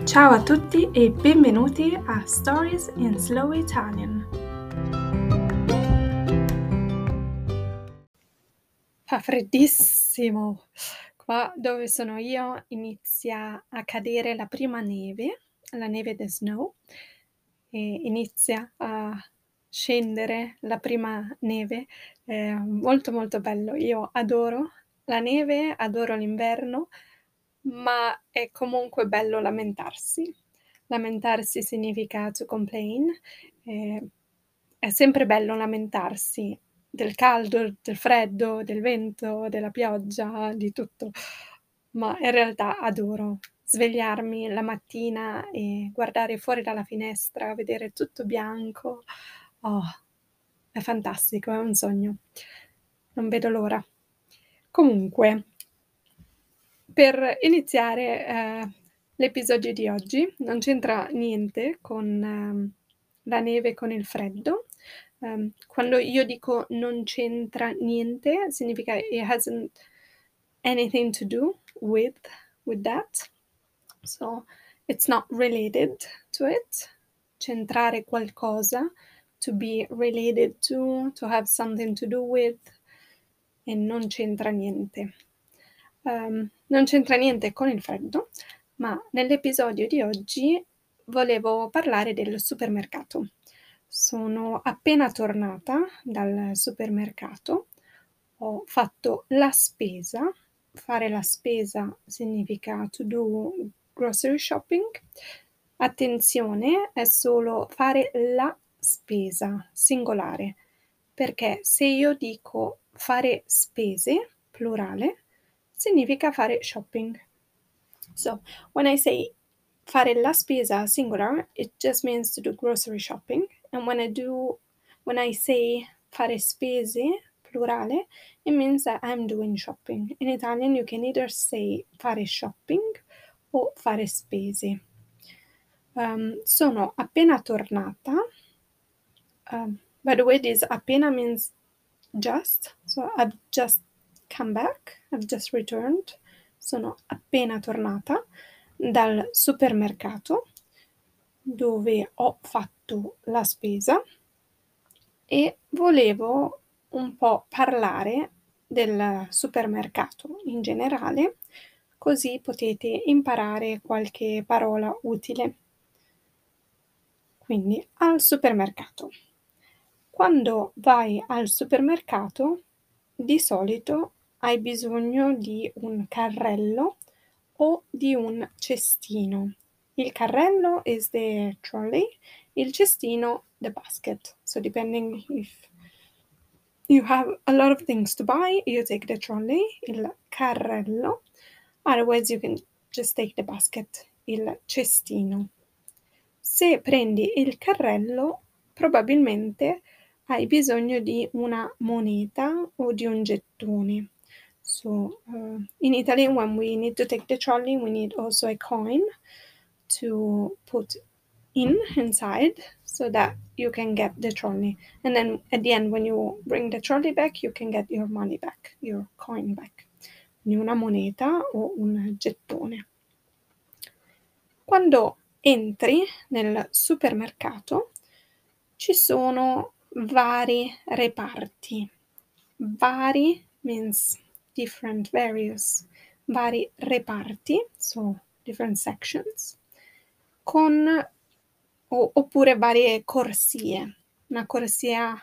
Ciao a tutti e benvenuti a Stories in Slow Italian. Fa freddissimo. Qua dove sono io inizia a cadere la prima neve, la neve the snow, e inizia a scendere la prima neve. Molto, molto bello. Io adoro la neve, adoro l'inverno, ma è comunque bello lamentarsi. Lamentarsi significa to complain. È sempre bello lamentarsi del caldo, del freddo, del vento, della pioggia, di tutto, ma in realtà adoro svegliarmi la mattina e guardare fuori dalla finestra, vedere tutto bianco. Oh, è fantastico, è un sogno. Non vedo l'ora. Comunque, per iniziare, l'episodio di oggi non c'entra niente con la neve, con il freddo. Quando io dico non c'entra niente, significa it hasn't anything to do with that. So, it's not related to it. Centrare qualcosa, to be related to have something to do with, e non c'entra niente. Non c'entra niente con il freddo, ma nell'episodio di oggi volevo parlare del supermercato. Sono appena tornata dal supermercato, ho fatto la spesa. Fare la spesa significa to do grocery shopping. Attenzione, è solo fare la spesa, singolare, perché se io dico fare spese, plurale, significa fare shopping. So, when I say fare la spesa singular, it just means to do grocery shopping. And when I say fare spese, plurale, it means that I'm doing shopping. In Italian you can either say fare shopping o fare spese. Sono appena tornata. By the way, this appena means just. So I've just come back, I've just returned. Sono appena tornata dal supermercato dove ho fatto la spesa e volevo un po' parlare del supermercato in generale, così potete imparare qualche parola utile. Quindi, al supermercato. Quando vai al supermercato, di solito hai bisogno di un carrello o di un cestino. Il carrello is the trolley, il cestino the basket. So depending if you have a lot of things to buy, you take the trolley, il carrello. Otherwise you can just take the basket, il cestino. Se prendi il carrello, probabilmente hai bisogno di una moneta o di un gettone. So, in Italy, when we need to take the trolley, we need also a coin to put inside so that you can get the trolley. And then at the end, when you bring the trolley back, you can get your money back, your coin back. Quindi una moneta o un gettone. Quando entri nel supermercato ci sono vari reparti. Vari means different, various. Vari reparti, so different sections, con oppure varie corsie. Una corsia,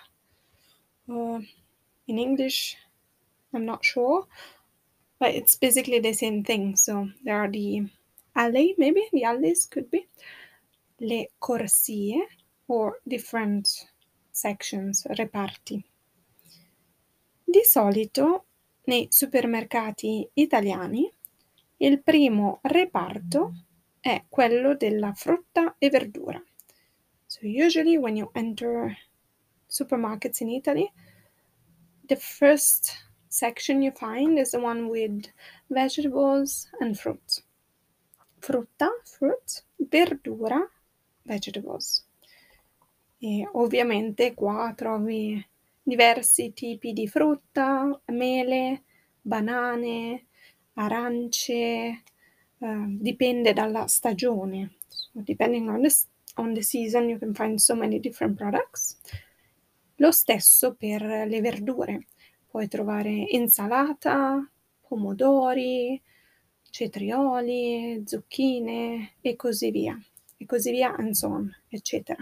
in English, I'm not sure, but it's basically the same thing. So there are the alley, maybe the alleys could be, le corsie or different sections, reparti. Di solito nei supermercati italiani il primo reparto è quello della frutta e verdura. So usually when you enter supermarkets in Italy, the first section you find is the one with vegetables and fruit. Frutta, fruit, verdura, vegetables. E ovviamente qua trovi diversi tipi di frutta, mele, banane, arance, dipende dalla stagione. So depending on the season you can find so many different products. Lo stesso per le verdure. Puoi trovare insalata, pomodori, cetrioli, zucchine e così via, and so on, eccetera.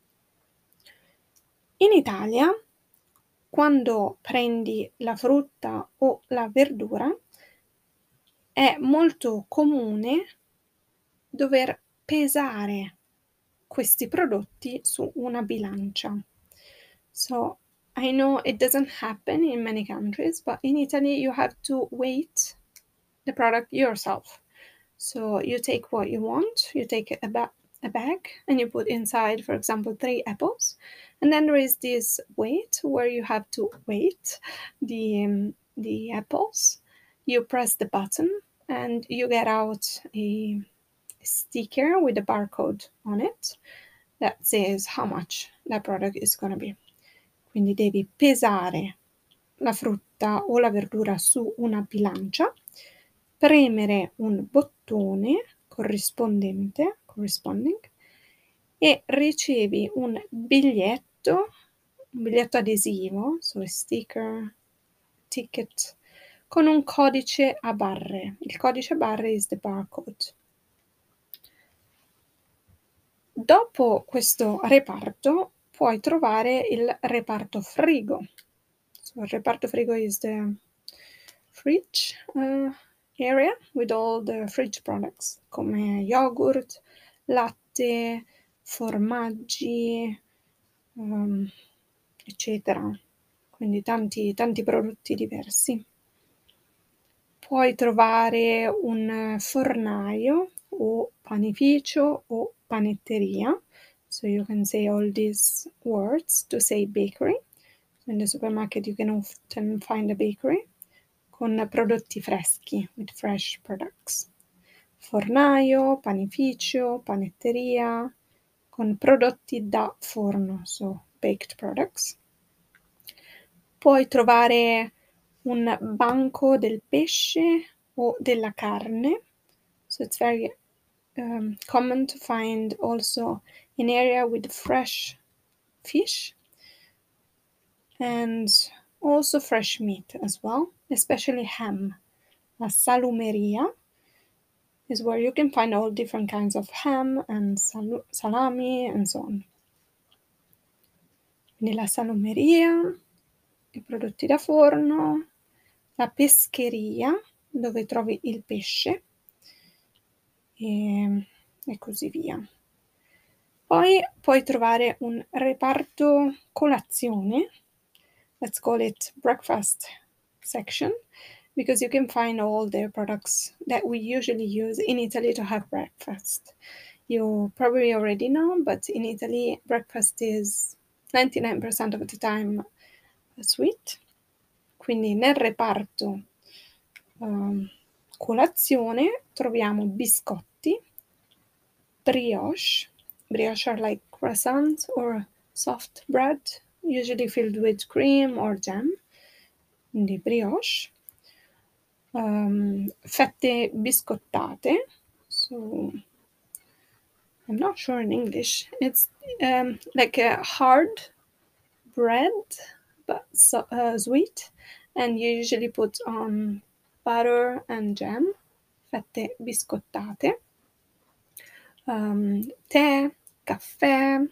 In Italia, quando prendi la frutta o la verdura, è molto comune dover pesare questi prodotti su una bilancia. So I know it doesn't happen in many countries, but in Italy you have to weight the product yourself. So you take what you want, you take a bag and you put inside, for example, 3 apples, and then there is this weight where you have to weight the apples. You press the button and you get out a sticker with a barcode on it that says how much that product is going to be. Quindi devi pesare la frutta o la verdura su una bilancia, premere un bottone corrisponding, e ricevi un biglietto adesivo, so a sticker, ticket, con un codice a barre. Il codice a barre is the barcode. Dopo questo reparto puoi trovare il reparto frigo. So il reparto frigo is the fridge area with all the fridge products come yogurt, latte, formaggi, eccetera. Quindi tanti prodotti diversi. Puoi trovare un fornaio o panificio o panetteria. So you can say all these words to say bakery. So in the supermarket you can often find a bakery con prodotti freschi, with fresh products. Fornaio, panificio, panetteria, con prodotti da forno, so baked products. Puoi trovare un banco del pesce o della carne. So it's very common to find also an area with fresh fish and also fresh meat as well, especially ham. La salumeria is where you can find all different kinds of ham and salami and so on. Quindi la salumeria, i prodotti da forno, la pescheria, dove trovi il pesce, e così via. Poi puoi trovare un reparto colazione, let's call it breakfast section, because you can find all the products that we usually use in Italy to have breakfast. You probably already know, but in Italy breakfast is 99% of the time sweet. Quindi nel reparto colazione troviamo biscotti, brioche are like croissants or soft bread, usually filled with cream or jam, quindi brioche, fette biscottate, so I'm not sure in English, it's like a hard bread but sweet, and you usually put on butter and jam, fette biscottate, tè, caffè,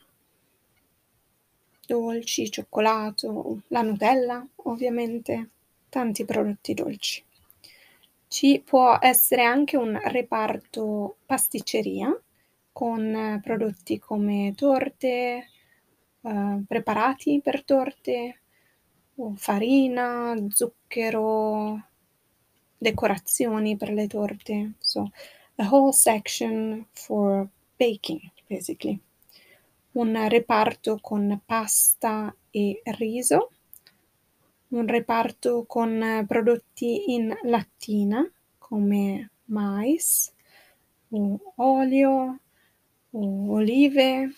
dolci, cioccolato, la Nutella ovviamente, tanti prodotti dolci. Ci può essere anche un reparto pasticceria con prodotti come torte, preparati per torte, o farina, zucchero, decorazioni per le torte. So a whole section for baking, basically. Un reparto con pasta e riso, un reparto con prodotti in lattina come mais, o olio, o olive,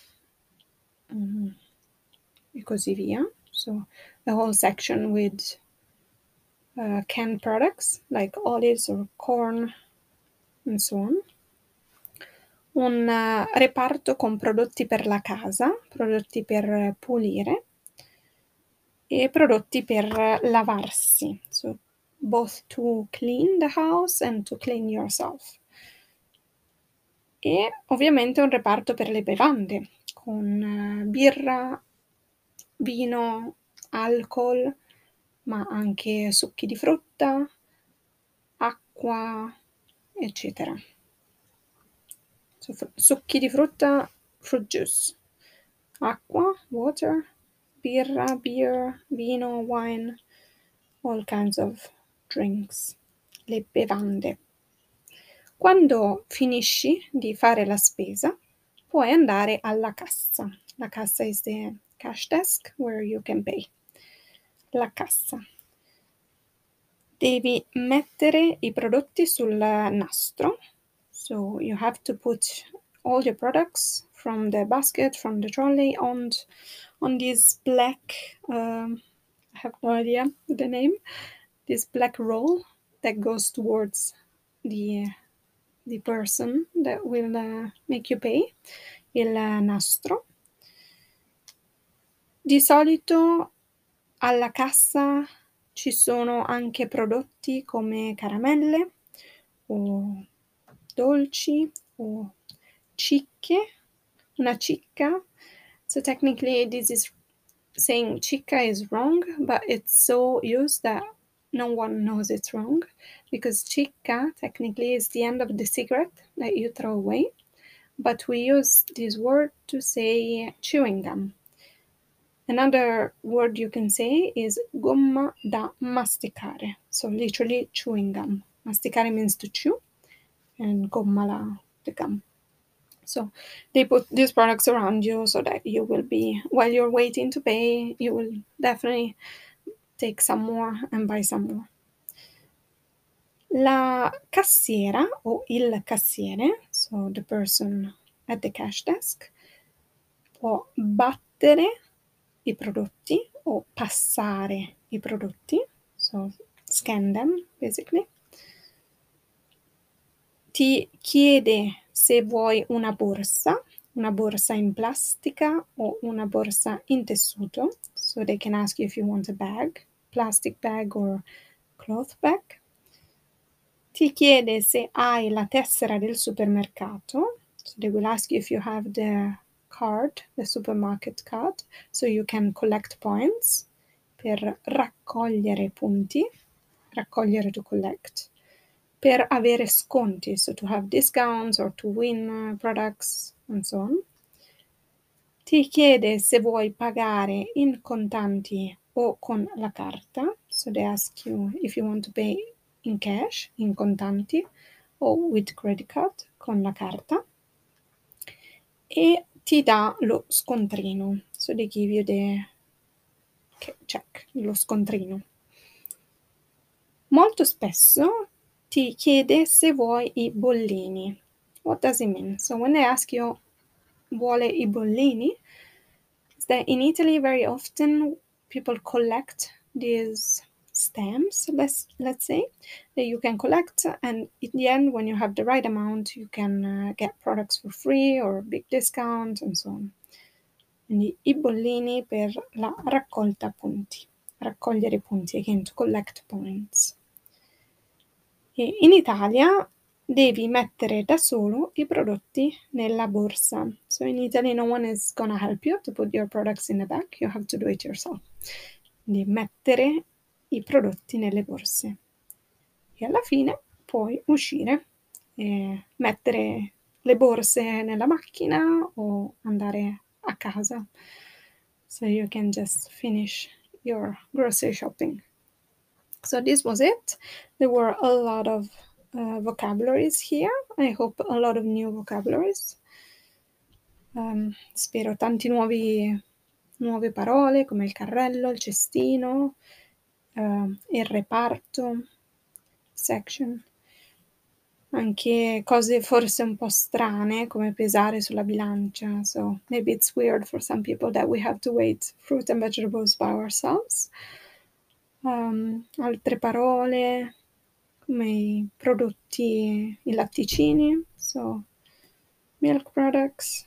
e così via. So a whole section with canned products like olives or corn and so on. Un reparto con prodotti per la casa, prodotti per pulire e prodotti per lavarsi. So both to clean the house and to clean yourself. E ovviamente un reparto per le bevande, con birra, vino, alcol, ma anche succhi di frutta, acqua, eccetera. So succhi di frutta, fruit juice, acqua, water, birra, beer, vino, wine, all kinds of drinks, le bevande. Quando finisci di fare la spesa, puoi andare alla cassa. La cassa is the cash desk where you can pay. La cassa. Devi mettere i prodotti sul nastro. So you have to put all your products from the basket, from the trolley on this black, I have no idea the name, this black roll that goes towards the person that will make you pay, il nastro. Di solito alla cassa ci sono anche prodotti come caramelle o dolci o cicche, una cicca. So technically this is saying cicca is wrong, but it's so used that no one knows it's wrong, because cicca technically is the end of the cigarette that you throw away, but we use this word to say chewing gum. Another word you can say is gomma da masticare, so literally chewing gum. Masticare means to chew, and gomma the gum. So they put these products around you so that you will be, while you're waiting to pay, you will definitely take some more and buy some more. La cassiera o il cassiere, so the person at the cash desk, può battere i prodotti o passare i prodotti, so scan them basically. Ti chiede se vuoi una borsa in plastica o una borsa in tessuto, so they can ask you if you want a bag, plastic bag or cloth bag. Ti chiede se hai la tessera del supermercato, so they will ask you if you have the card, the supermarket card, so you can collect points, per raccogliere punti, raccogliere to collect, per avere sconti, so to have discounts or to win products and so on. Ti chiede se vuoi pagare in contanti o con la carta, so they ask you if you want to pay in cash, in contanti, o with credit card, con la carta. E ti dà lo scontrino, so they give you the check, lo scontrino. Molto spesso ti chiede se vuoi i bollini. What does it mean? So when they ask you, vuole i bollini, is that in Italy very often people collect these stamps, let's say, that you can collect, and in the end, when you have the right amount, you can get products for free or a big discount and so on. Quindi i bollini per la raccolta punti, raccogliere punti, again, to collect points. E in Italia devi mettere da solo i prodotti nella borsa. So in Italy no one is gonna help you to put your products in the bag, you have to do it yourself. Quindi mettere i prodotti nelle borse. E alla fine puoi uscire e mettere le borse nella macchina o andare a casa. So you can just finish your grocery shopping. So this was it. There were a lot of vocabularies here. I hope a lot of new vocabularies. Spero tanti nuove parole come il carrello, il cestino, il reparto, section. Anche cose forse un po' strane come pesare sulla bilancia. So maybe it's weird for some people that we have to weigh fruit and vegetables by ourselves. Altre parole come i prodotti, i latticini, so milk products,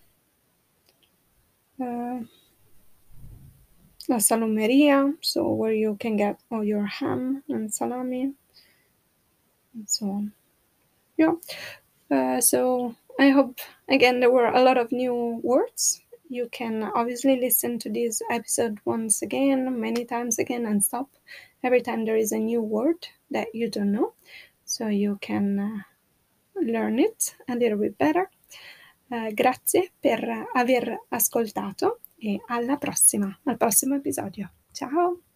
la salumeria, so where you can get all your ham and salami, and so on. Yeah. So I hope, again, there were a lot of new words. You can obviously listen to this episode once again, many times again, and stop every time there is a new word that you don't know, so you can learn it a little bit better. Grazie per aver ascoltato e alla prossima, al prossimo episodio. Ciao!